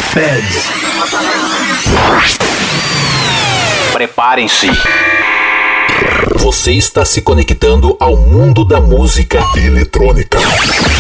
Feds. Preparem-se. Você está se conectando ao mundo da música eletrônica. 5,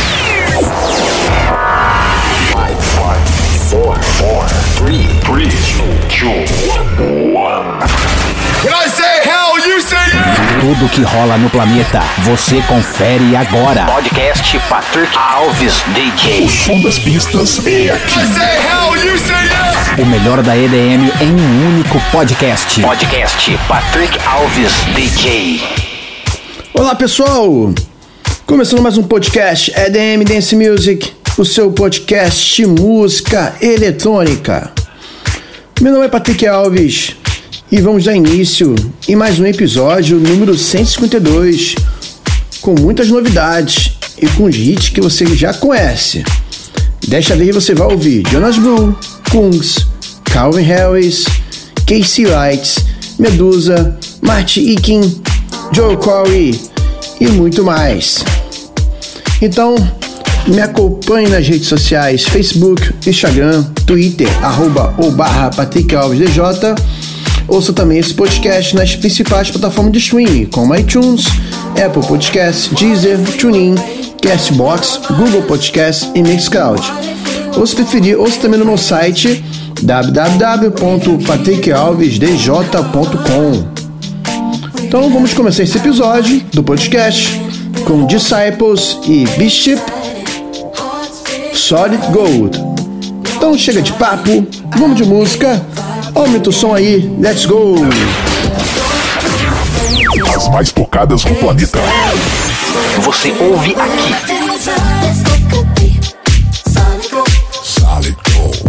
4, 3, 2, 1. When I say hell, you say yeah! Tudo que rola no planeta, você confere agora. Podcast Patrick Alves DJ. O som das pistas é aqui. I say hell, you say yeah! O melhor da EDM em um único podcast. Podcast Patrick Alves DJ. Olá pessoal, começando mais um podcast EDM Dance Music, o seu podcast de música eletrônica. Meu nome é Patrick Alves e vamos dar início em mais um episódio número 152, com muitas novidades e com os hits que você já conhece. Desta vez você vai ouvir Jonas Blue, Kungs, Calvin Harris, Casey Lights, Medusa, Marty Ikin, Joe Corey e muito mais. Então, me acompanhe nas redes sociais, Facebook, Instagram, Twitter, @PatrickAlvesDJ. Ouça também esse podcast nas principais plataformas de streaming, como iTunes, Apple Podcasts, Deezer, TuneIn, Castbox, Google Podcasts e Mixcloud. Ou se preferir, ouça também no meu site www.patrickalvesdj.com. Então vamos começar esse episódio do podcast com Disciples e Bishop, Solid Gold. Então chega de papo, vamos de música. Aumenta o som aí, let's go! As mais tocadas no planeta. Você ouve aqui. Solid Gold.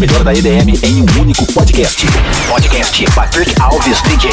melhor da EDM em um único podcast. Podcast Patrick Alves DJ.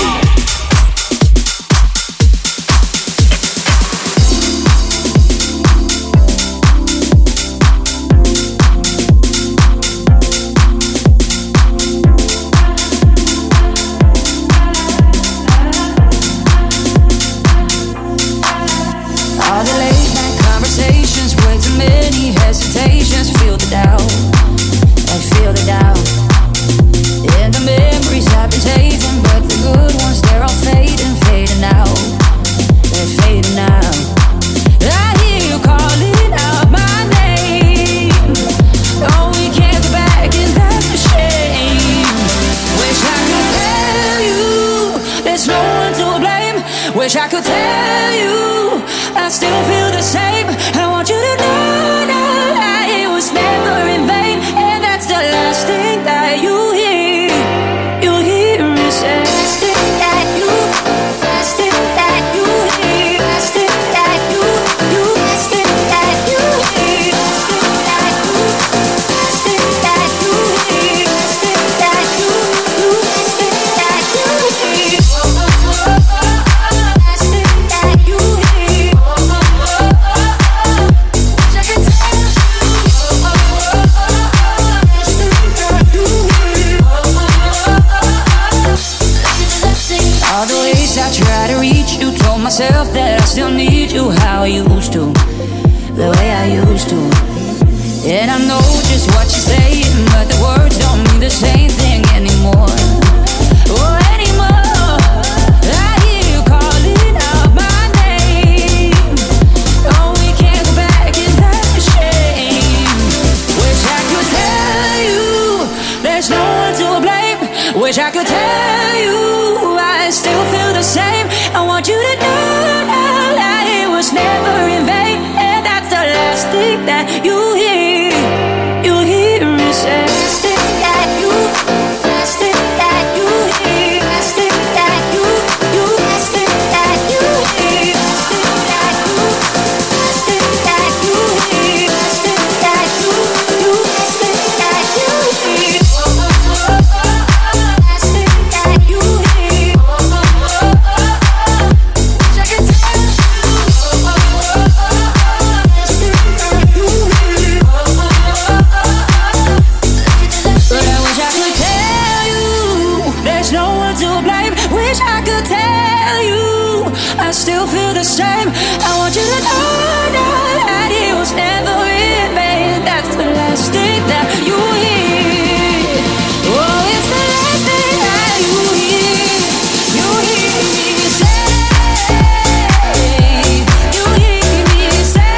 Feel the doubt, I feel the doubt. And the memories I've been saving, but the good ones, they're all fading, fading out. They're fading out. I hear you calling out my name. Oh, we can't go back, and that's a shame. Wish I could tell you there's no one to blame. Wish I could tell you I still feel the same. I want you to know never in vain, and that's the last thing that you hear. You hear me say, last thing that you, last thing that you hear, last thing that you, last thing that you hear, last thing that you, last thing that you hear, last thing that you, last thing that you hear, last thing that you hear. All the ways I try to reach you, told myself that I still need you how I used to, the way I used to. And I know just what you're saying, but the words don't mean the same thing anymore. Oh, anymore. I hear you calling out my name. Oh, we can't go back, and that's a shame. Wish I could tell you there's no one to blame. Wish I could tell you I still feel the same. I want you to know that it was never in vain, and that's the last thing that you hear. You hear me say, last thing that you, last thing that you hear, last thing that you, last thing that you hear, last thing that you, last thing that you hear, last thing that you, last thing that you hear. Still feel the same. I want you to know that it was never in vain. That's the last thing that you hear. Oh, it's the last thing that you hear. You hear me say. You hear me say.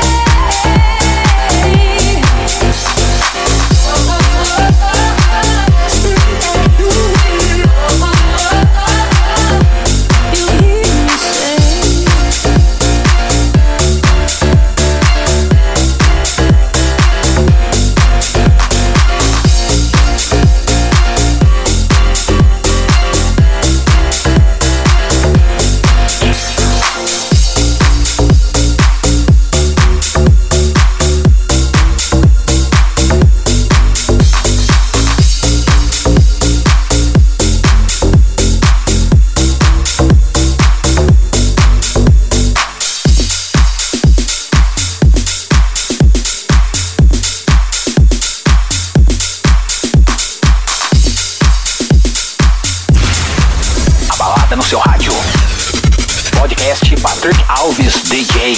No seu rádio. Podcast Patrick Alves DJ.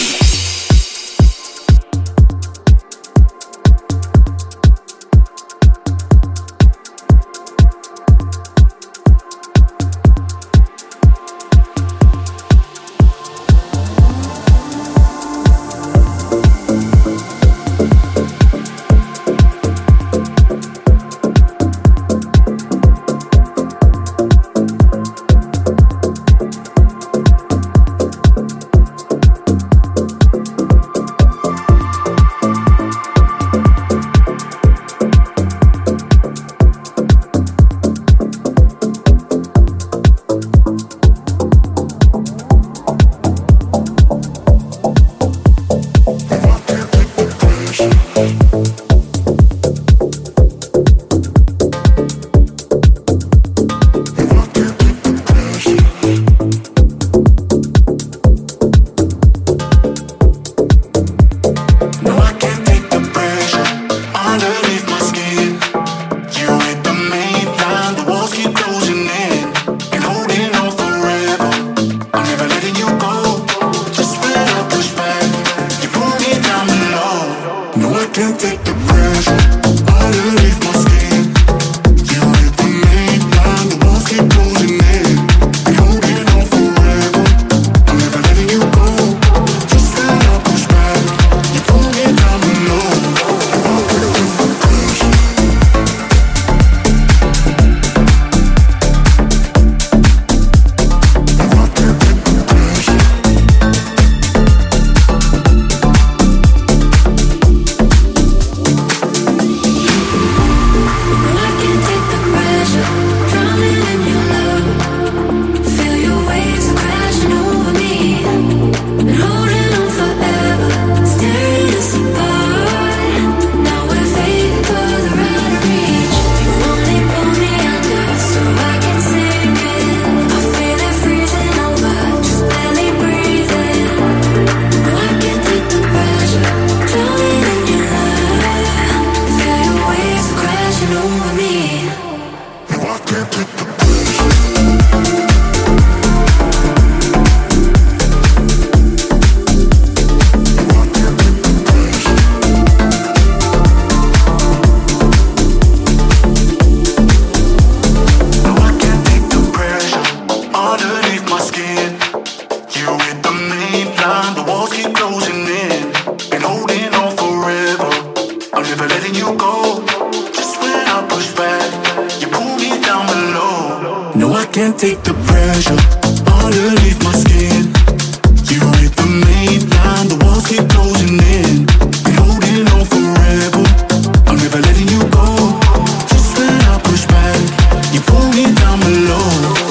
can't take the pressure underneath my skin. You hit the main line, the walls keep closing in. Been holding on forever, I'm never letting you go. Just when I push back, you pull me down below.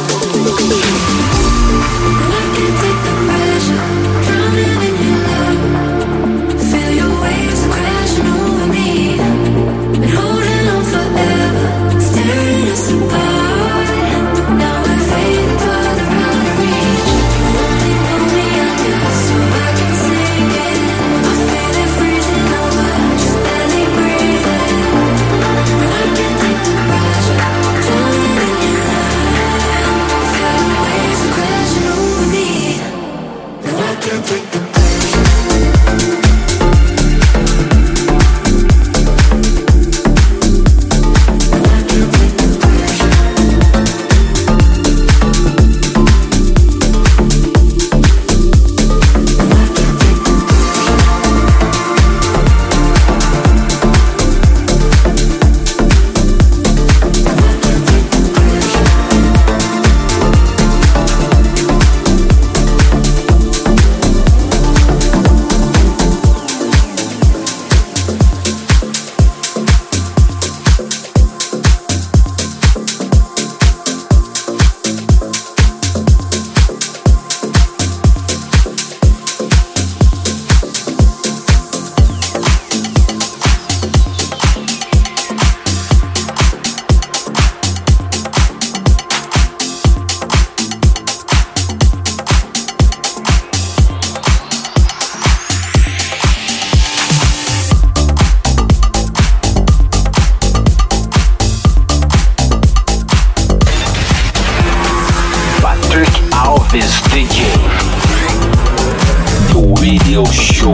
And I can't take the pressure, drowning in your love. Feel your waves are crashing over me. Been holding on forever, staring us apart. Now we're fading farther out of reach. You only pull me under so I can sink in. I feel it freezing over, just barely breathing. And I can't take the pressure, drowning in your love. Feel your waves are crashing over me. And I can't take the Alves DJ do Radio Show.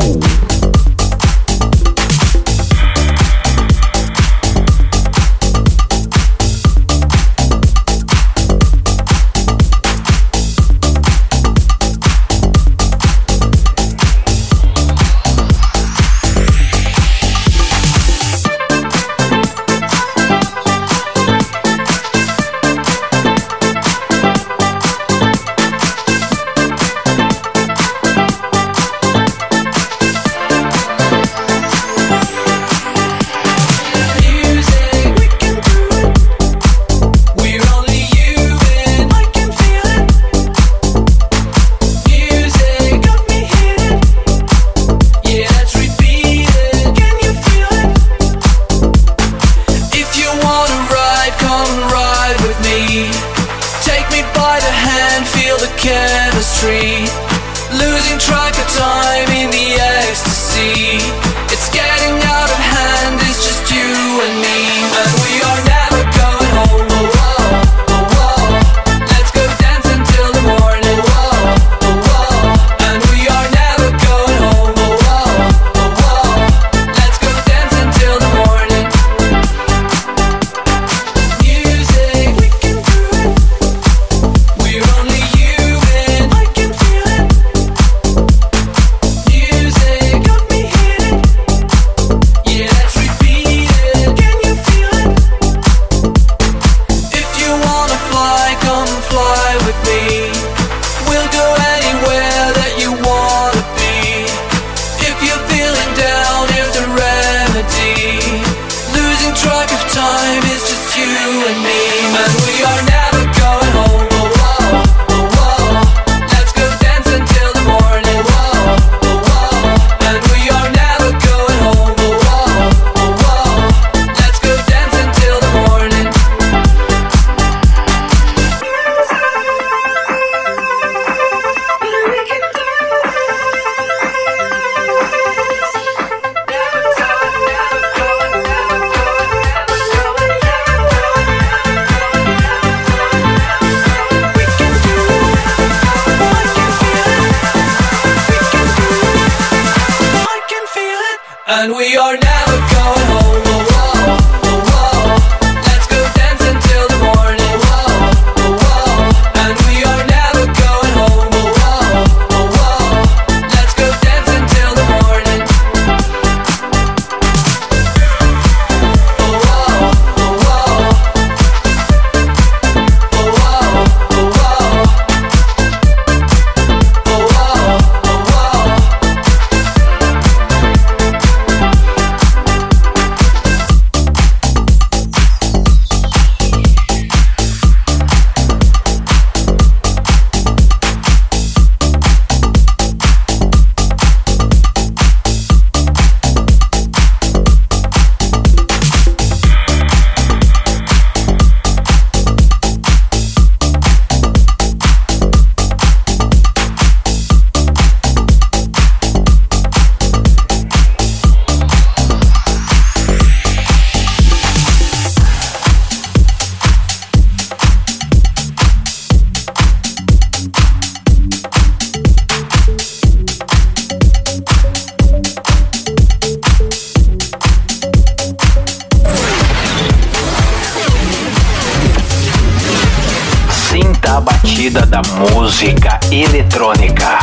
da batida da música eletrônica.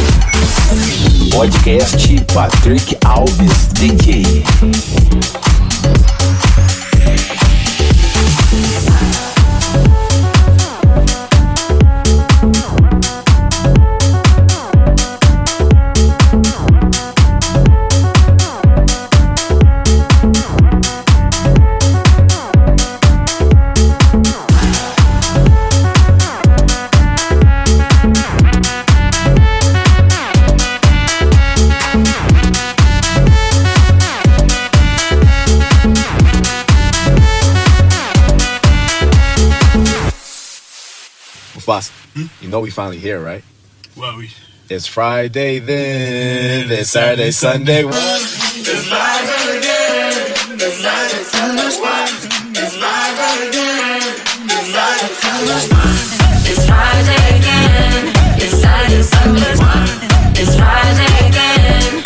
Podcast Patrick Alves DJ. Boss, you know we finally here, right? Well, It's Friday then, it's Saturday, Sunday. it's live again. It's live and Sunday. It's live again. It's live and Sunday. It's Friday again. It's Saturday, Sunday. It's Friday again.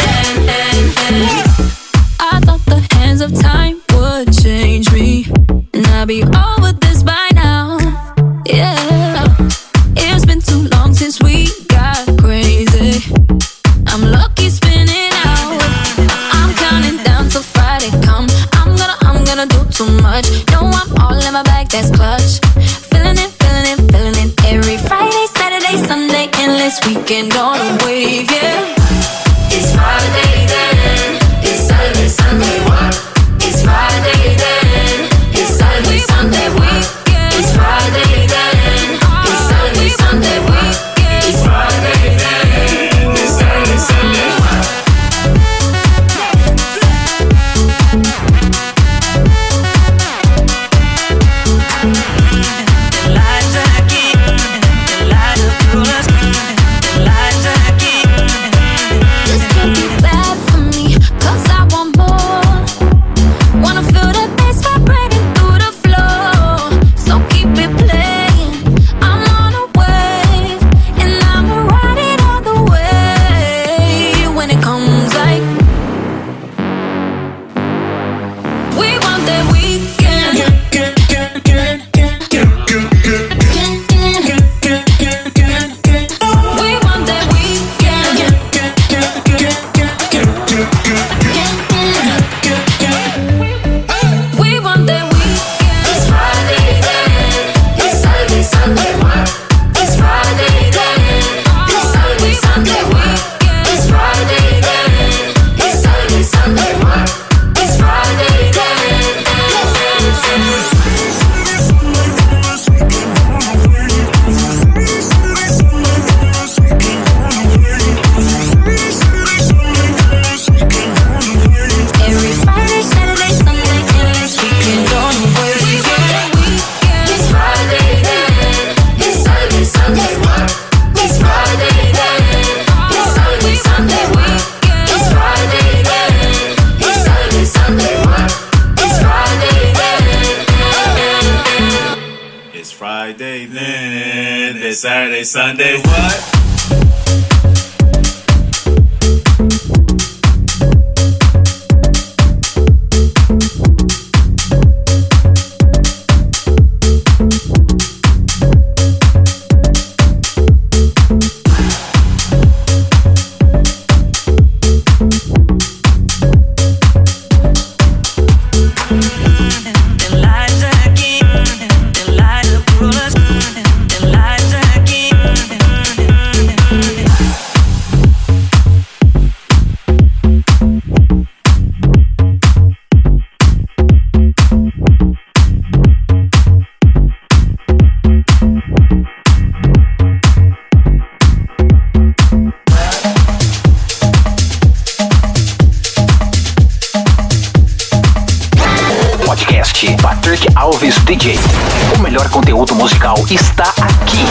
I thought the hands of time would change me, and I'd be over this by now. Yeah. It's been too long since we got crazy. I'm lucky spinning out. I'm counting down till Friday come. I'm gonna do too much. No, I'm all in my bag, that's clutch. Feeling it. Every Friday, Saturday, Sunday, endless weekend on a wave, yeah. It's Friday then. It's Saturday, Sunday, what? It's Friday then. It's Saturday, Sunday, what? It's Friday then. It's Saturday, Sunday, what? It's Friday then. It's Saturday, Sunday, what? This could be bad for me, 'cause I want more. Wanna feel the bass vibrating through the floor. So keep it playing. I'm on a wave, and I'ma ride it all the way. When it comes like we want that weekend. We want that weekend. We want that weekend. It's Friday then. It's Saturday, Sunday, what? It's Friday then. It's Saturday, Sunday, what? It's Friday then. It's Saturday, Sunday, what? It's Friday then. Every Friday, Saturday, Sunday, endless weekend on the wave. It's Friday then. It's Saturday, Sunday, what? It's Friday then. It's Saturday, Sunday, what? It's Friday then. It's Saturday, Sunday, what? It's Friday then. It's Friday then, it's Saturday, Sunday, what? Podcast Patrick Alves DJ. O melhor conteúdo musical está aqui.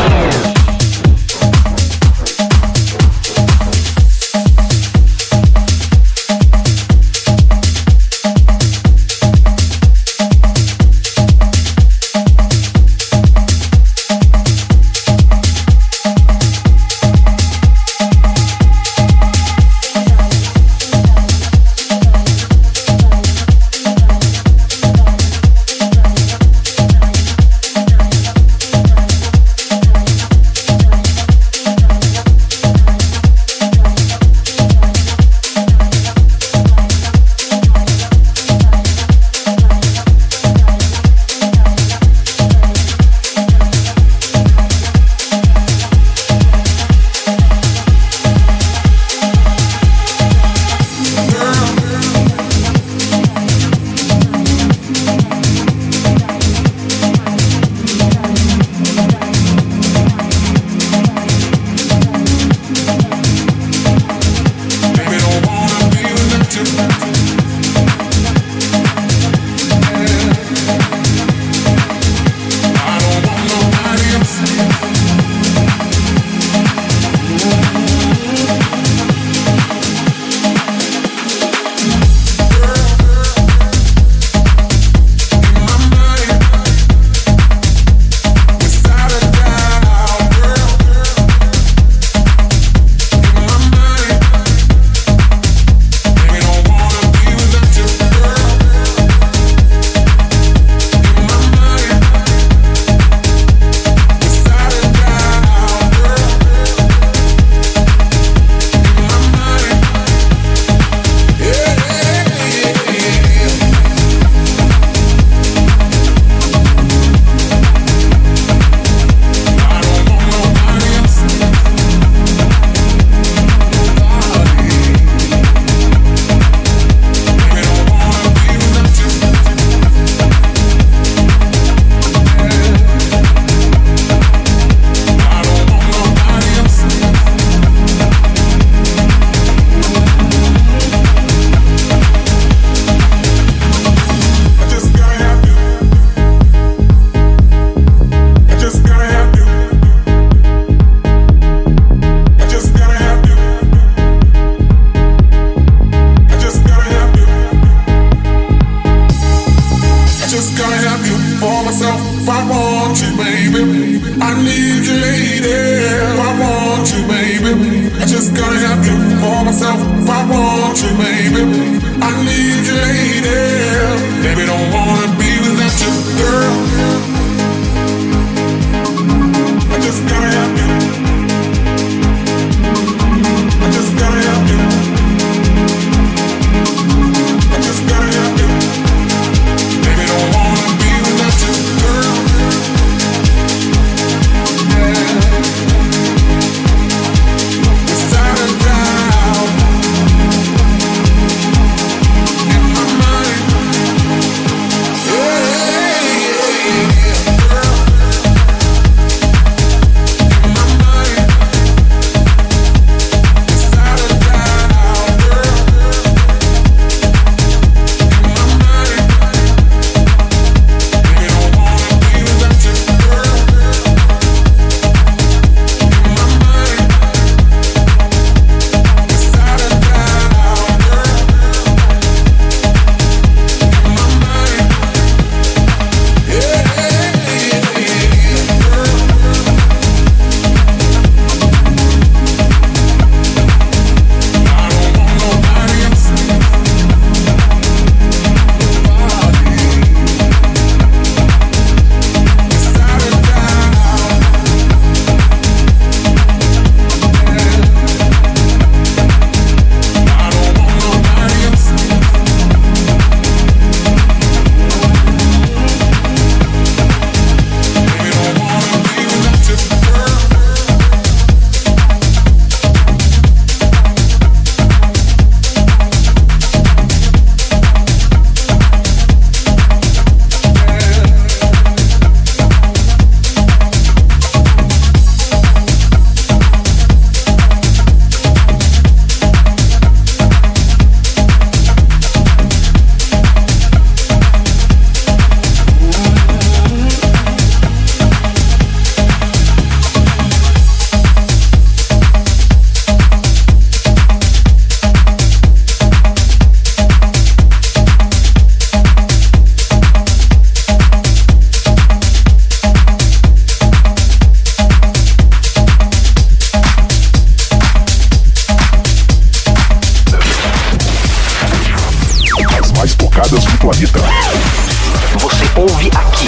want you, baby. I need you, lady. I want you, baby. I just gotta have you for myself. I want you, baby. I need you, lady. Baby, don't wanna be without you, girl. I just gotta have you. I just gotta have you. I just gotta have you. Baby, don't wanna be without you, girl. Inside and out, in my mind. Girl. In my mind. Inside and out, girl. In my mind. Baby, don't wanna be without you, girl. In my mind. Inside and out, girl. In my mind. I don't want nobody else. Inside and out. I don't want nobody else. Baby, don't wanna be without you, girl. As mais tocadas do planeta. Você ouve aqui.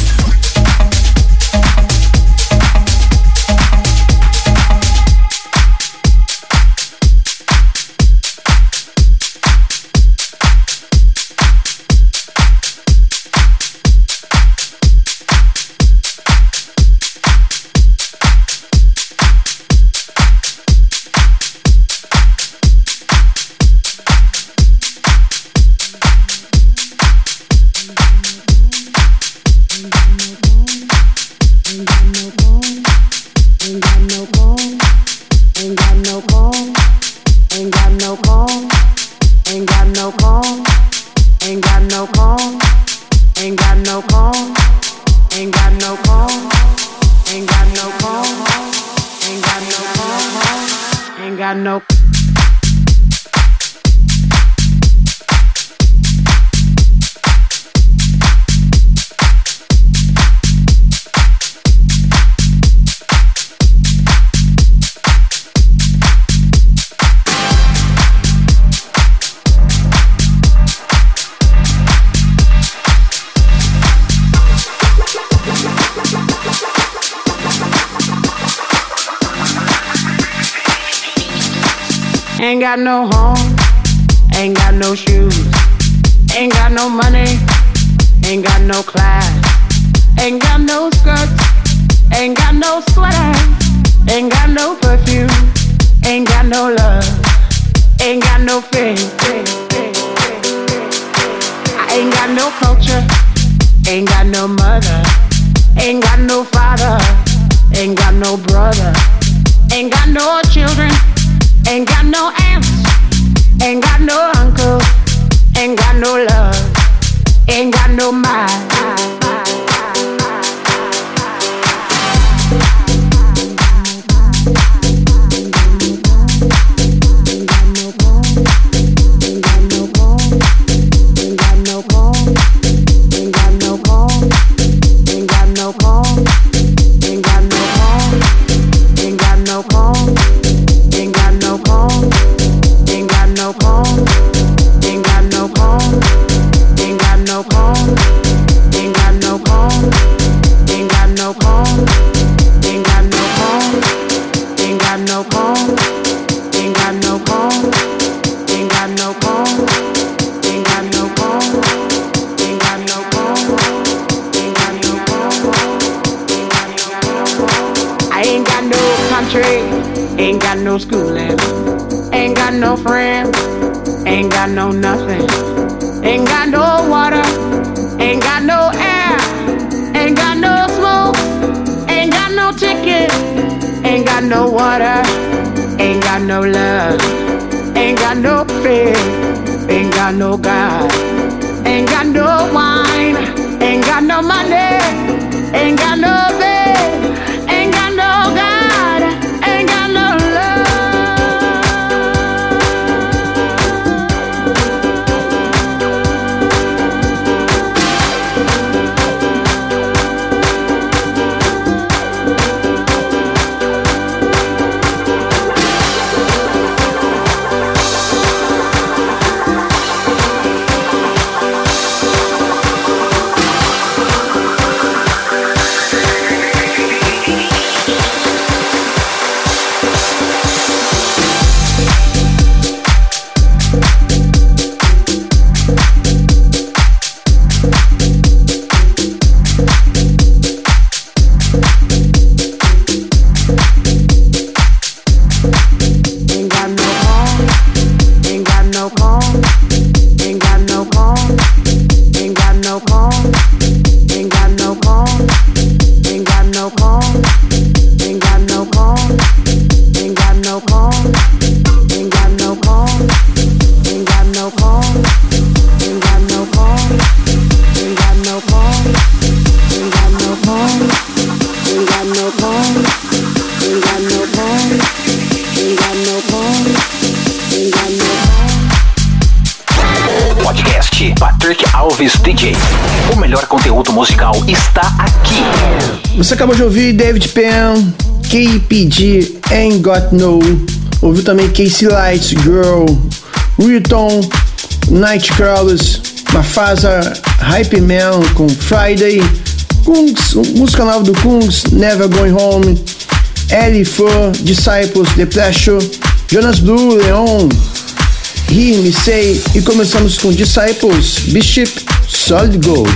Ain't got no home, ain't got no shoes, ain't got no money, ain't got no class, ain't got no skirts, ain't got no sweater, ain't got no perfume, ain't got no love, ain't got no faith. I ain't got no culture, ain't got no mother, ain't got no father, ain't got no brother, ain't got no children. Ain't got no aunts, ain't got no uncles, ain't got no love, ain't got no mind. Ain't got no trade, ain't got no schooling, ain't got no friends, ain't got no nothing, ain't got no water, ain't got no air, ain't got no smoke, ain't got no ticket, ain't got no water, ain't got no love, ain't got no faith, ain't got no God, ain't got no wine, ain't got no money, ain't got no bed, ain't got no God, ain't got no love. DJ. O melhor conteúdo musical está aqui. Você acabou de ouvir David Penn, KPD, Ain't Got No. Ouviu também Casey Lights, Girl, Riton, Nightcrawlers, Mafasa, Hype Man com Friday, Kungs, música nova do Kungs, Never Going Home, Ellie Fur, Disciples, The Pleasure, Jonas Blue, Leon, Hear Me Say, e começamos com Disciples, Bishop, Solid Gold.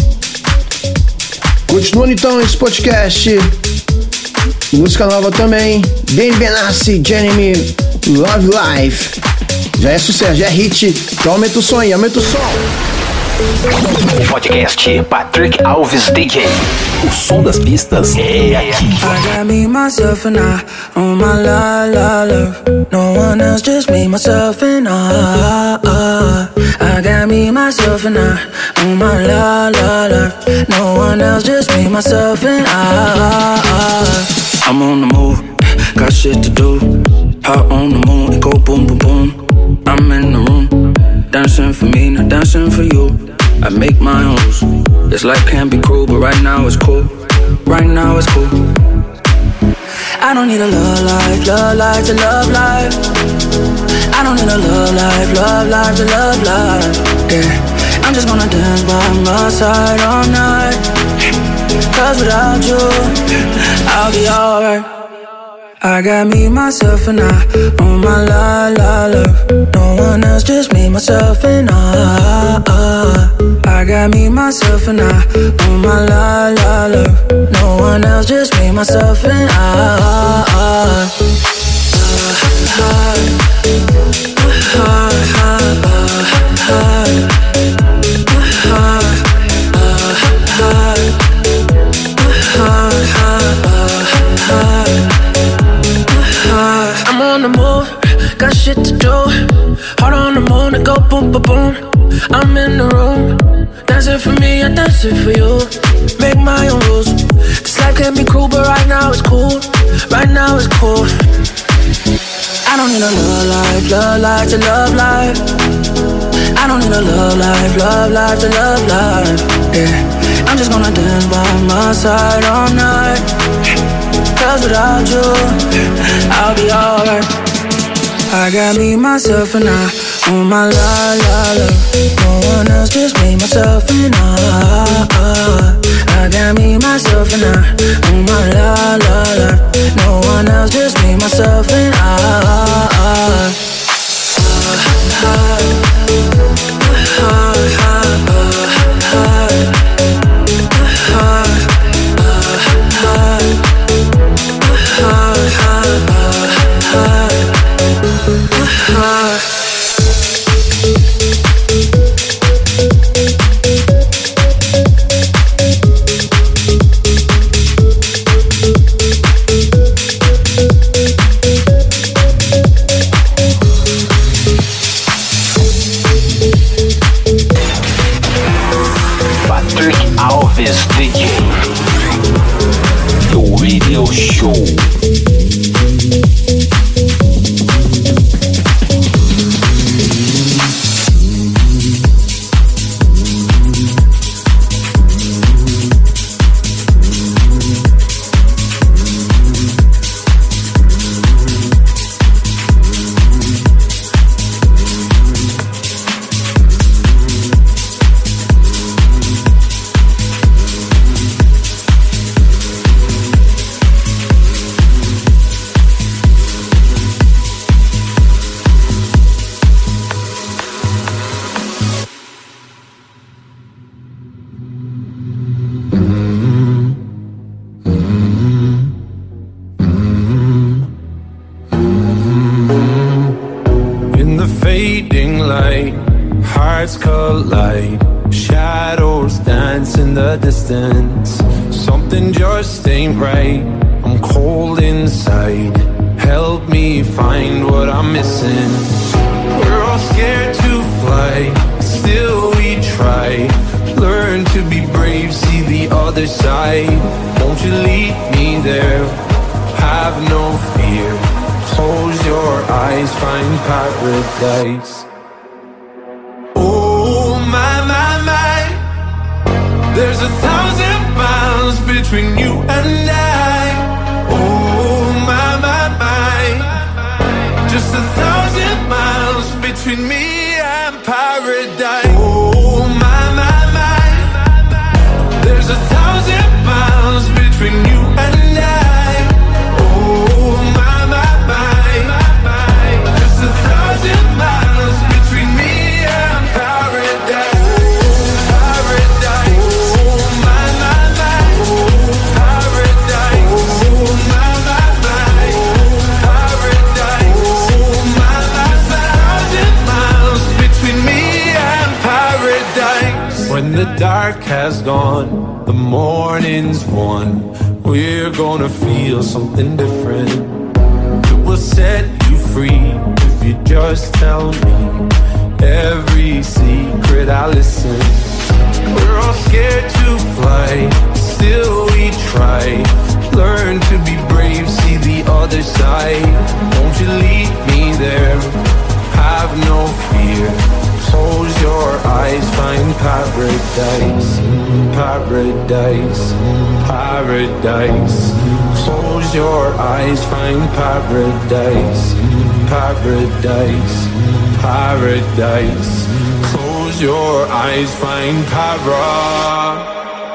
Continuando então esse podcast, música nova também, Ben Benassi, Jeremy, Love Life. Já é sucesso, já é hit, então aumenta o som aí, aumenta o som. Podcast Patrick Alves DJ. O som das pistas é aqui. I got me, myself and I on my love. No one else, just me, myself and I. I got me, myself and I on my love. No one else, just me, myself and I. I'm on the move, got shit to do. Hot on the moon, it go boom, boom, boom. I'm in the room, dancing for me, not dancing for you. I make my own rules. This life can be cruel, but right now it's cool. Right now it's cool. I don't need a love life to love life. I don't need a love life to love life. Yeah, I'm just gonna dance by my side all night. Cause without you, I'll be alright. I got me, myself and I on my love. No one else, just me, myself and I. I got me, myself and I on my love. No one else, just me, myself and I. I'm on the move, got shit to do. Heart on the moon, it go boom, boom, boom. I'm in the room, dancing for me, I dance it for you. Make my own rules. This life can be cruel, but right now it's cool. Right now it's cool. I don't need a love life to love life. I don't need a love life to love life. Yeah, I'm just gonna dance by my side all night. Cause without you, I'll be alright. I got me, myself and I on my love. No one else, just me, myself and I. I got me, myself and I on my love. No one else, just me, myself and I. Show. Hearts collide, shadows dance in the distance. Something just ain't right, I'm cold inside. Help me find what I'm missing. We're all scared to fly, still we try. Learn to be brave, see the other side. Won't you lead me there? Have no fear. Close your eyes, find paradise. There's 1,000 miles between you and I. Oh my, my, my. Just 1,000 miles between me and paradise. Oh my, my, my. There's 1,000 miles between you and I. Oh my, my, my. Just 1,000 miles between me and paradise. When the dark has gone, the morning's won. We're gonna feel something different. It will set you free if you just tell me every secret I listen. We're all scared to fly, still we try. Learn to be brave, see the other side. Won't you lead me there? Have no fear. Close your eyes, find paradise, paradise, paradise. Close your eyes, find paradise, paradise, paradise. Close your eyes, find paradise.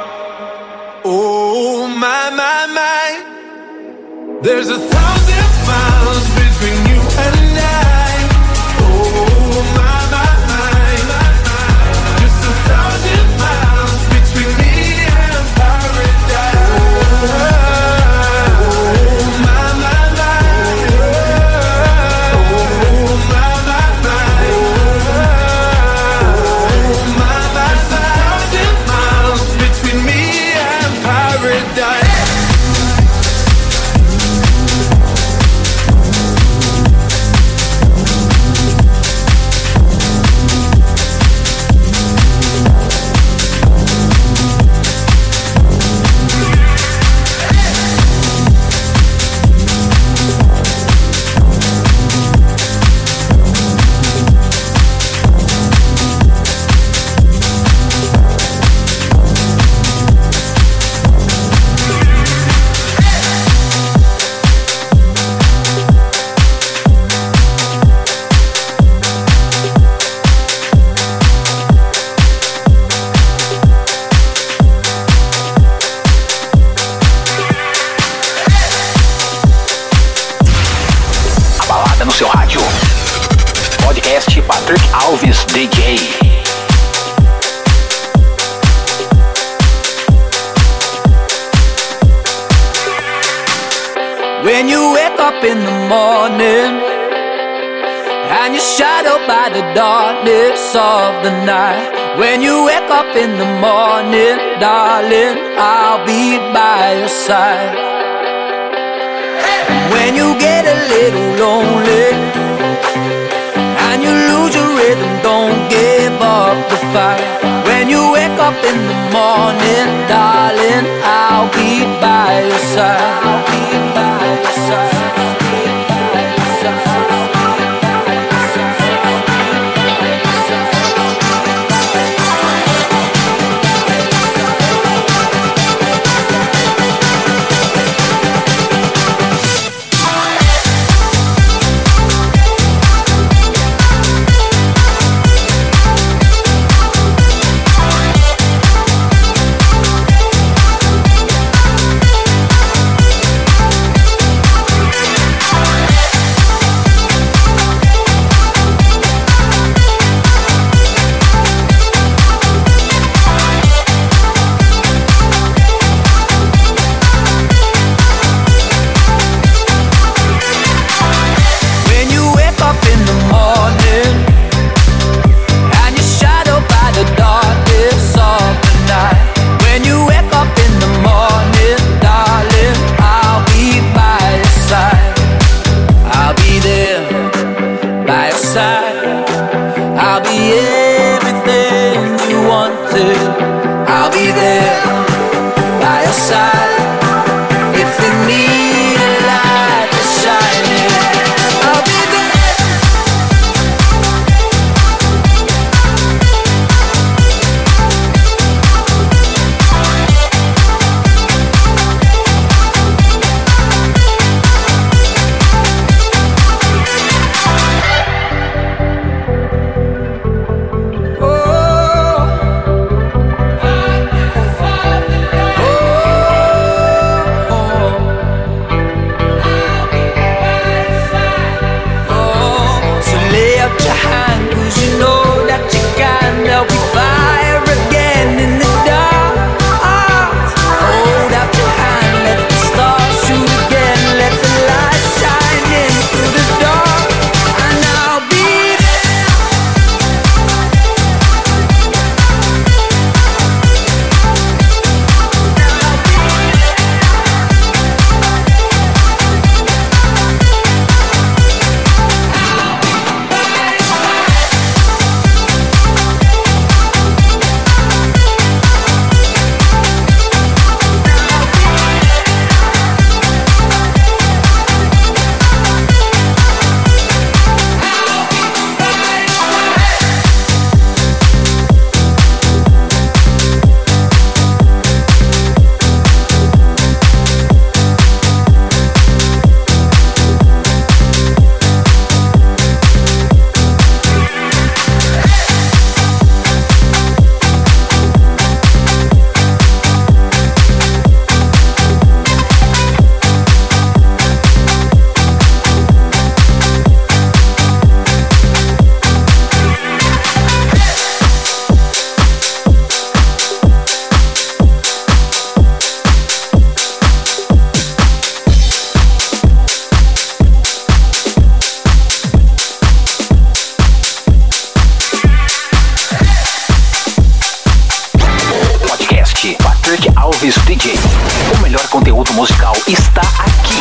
Oh my, my, my. There's 1,000 miles between you and I. Oh my, my. 1,000 miles between me and paradise. Oh my, my, my. Oh my, my, my. Oh my, my, 1,000 miles between me and paradise. Patrick Alves DJ. When you wake up in the morning and you're shadowed by the darkness of the night. When you wake up in the morning, darling, I'll be by your side. When you get a little lonely and you lose your rhythm, don't give up the fight. When you wake up in the morning, darling, I'll be by your side. melhor conteúdo musical está aqui.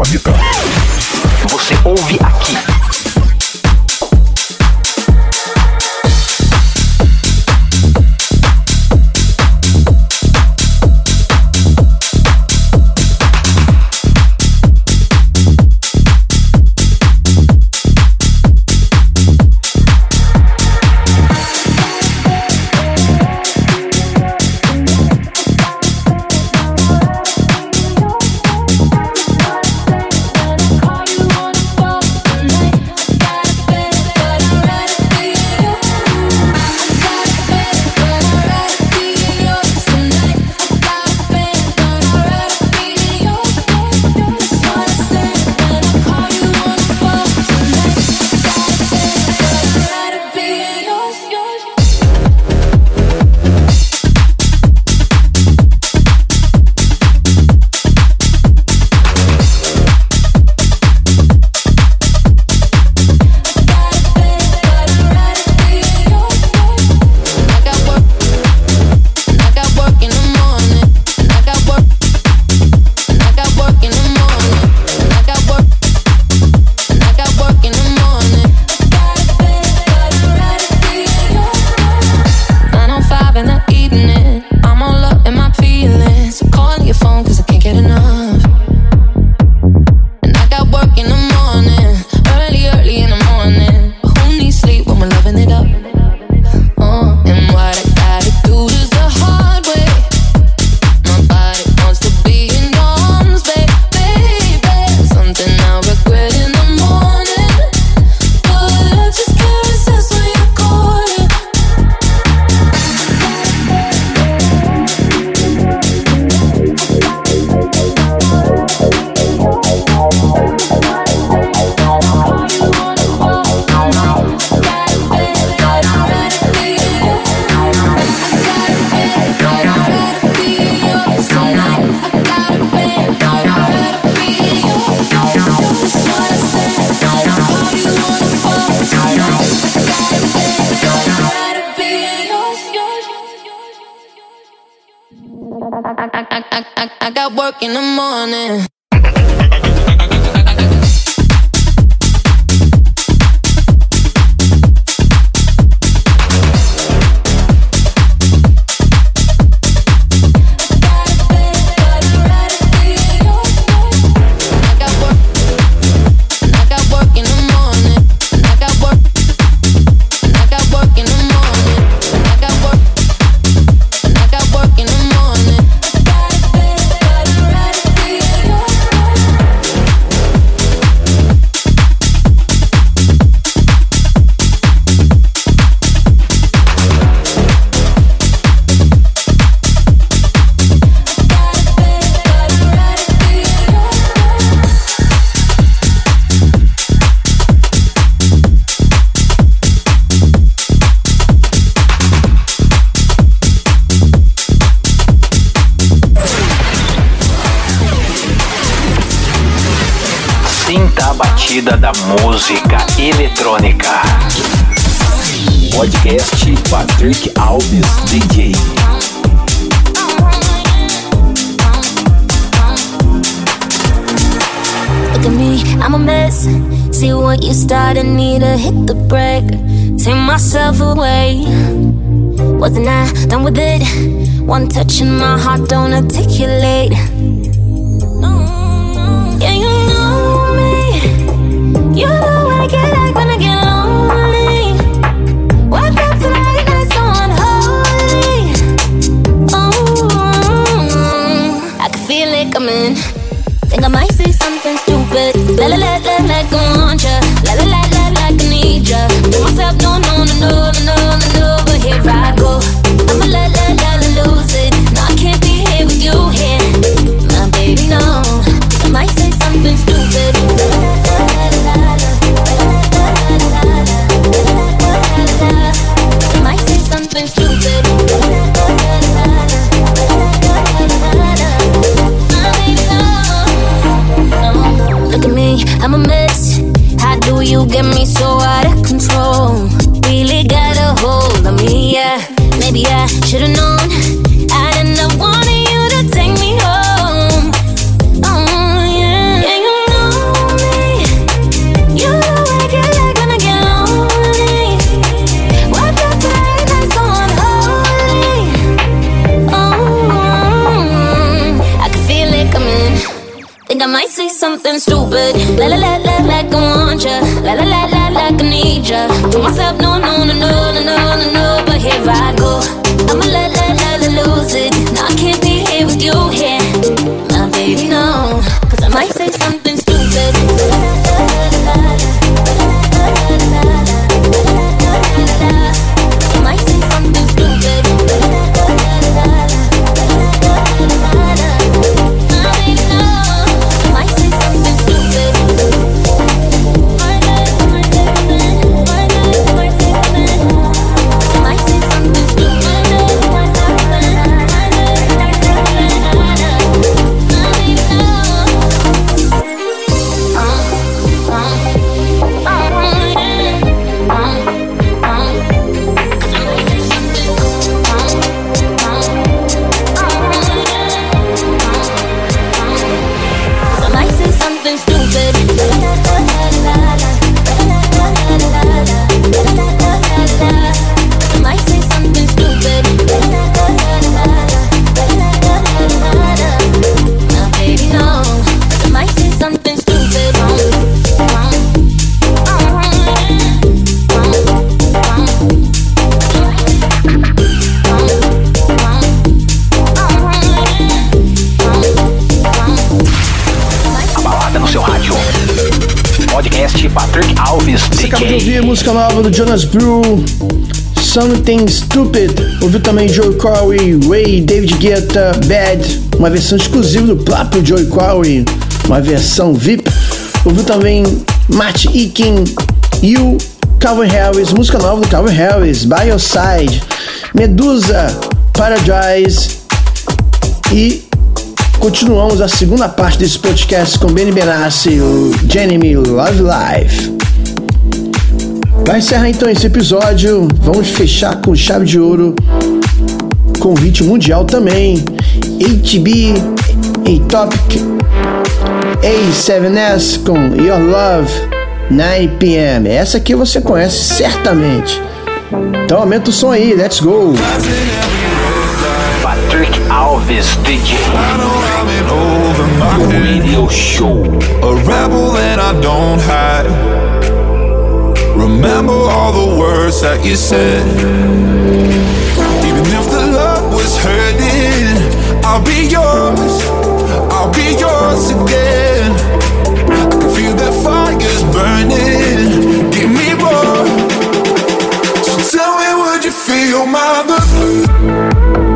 planeta. Você ouve aqui. I got work in the morning. Da música eletrônica. Podcast Patrick Alves DJ. Look at me, I'm a mess. See what you started, need to hit the brake. Take myself away. Wasn't I done with it? One touch and my heart don't articulate. Yeah, you know me. You know what I get like when I get lonely. Wake up tonight and it's so unholy. Oh, I can feel it coming. Think I might say something stupid. Like I want ya. Like I need ya. Tell myself no. But here I go. I'ma let lose it. No, I can't be here with you here. something stupid. La la la la, like I want ya. La la la la, like I need ya. Told myself no, no, no, no, no, no, no, no. But here I go. I'ma la la la la lose it. No, I can't be here with you here. My baby, no. Cause I might say something stupid. I might say something stupid. Patrick Alves, Você DJ. acabou de ouvir a música nova do Jonas Blue, Something Stupid. Ouviu também Joey Corey, Ray, David Guetta, Bad, uma versão exclusiva do próprio Joey Corey, uma versão VIP. Ouviu também Matt Eakin, You, Calvin Harris, música nova do Calvin Harris, By Your Side, Medusa, Paradise. E continuamos a segunda parte desse podcast com Benny Benassi, o Jeremy Love Life. Para encerrar então esse episódio, vamos fechar com chave de ouro, com hit mundial também, HB, A-Topic, A7S com Your Love, 9 p.m. Essa aqui você conhece certamente. Então aumenta o som aí, let's go! Patrick Alves, DJ. O Radio Show. A rebel and I don't hide. Remember all the words that you said. Even if the love was hurting, I'll be yours. I'll be yours again. I can feel that fire's burning. Give me more. So tell me, would you feel my love?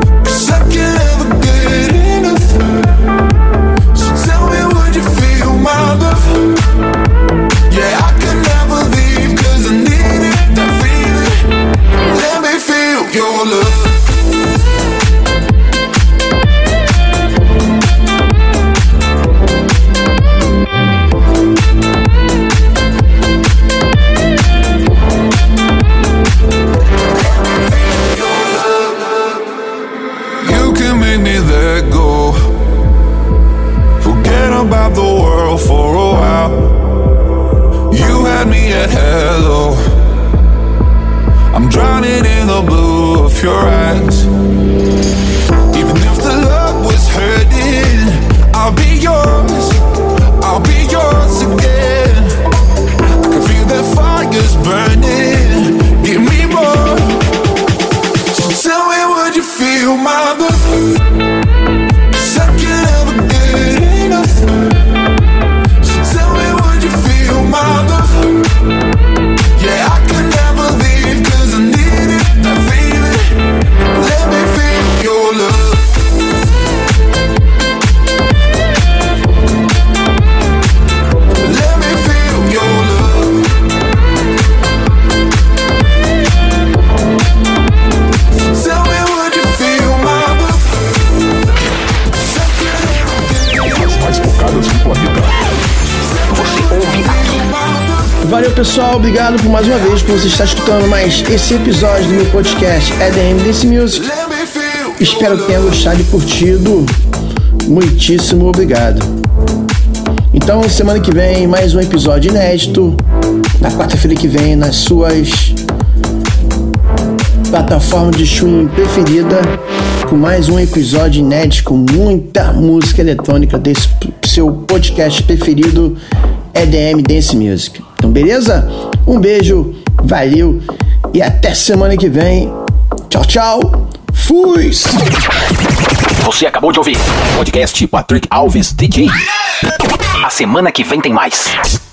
About the world for a while. You had me at hello. I'm drowning in the blue of your eyes. Even if the love was hurting, I'll be yours. I'll be yours again. I can feel that fire's burning. Give me more. So tell me, would you feel my love? 'Cause I can't ever get enough. So tell me, would you feel my love? Yeah, I can never leave 'cause I need it, that feeling. Let me feel your love. Let me feel your love. So tell me, would you feel my love? As mais tocadas do planeta. Você ouve aqui. Valeu pessoal, obrigado por mais uma vez por você estar escutando mais esse episódio do meu podcast EDM Dance Music. Espero que tenha gostado e curtido. Muitíssimo obrigado. Então semana que vem mais um episódio inédito. Na quarta-feira que vem nas suas plataforma de streaming preferida, com mais um episódio inédito com muita música eletrônica desse seu podcast preferido, EDM Dance Music. Então, beleza? Um beijo, valeu e até semana que vem. Tchau, tchau. Fui! Você acabou de ouvir o podcast Patrick Alves DJ. A semana que vem tem mais.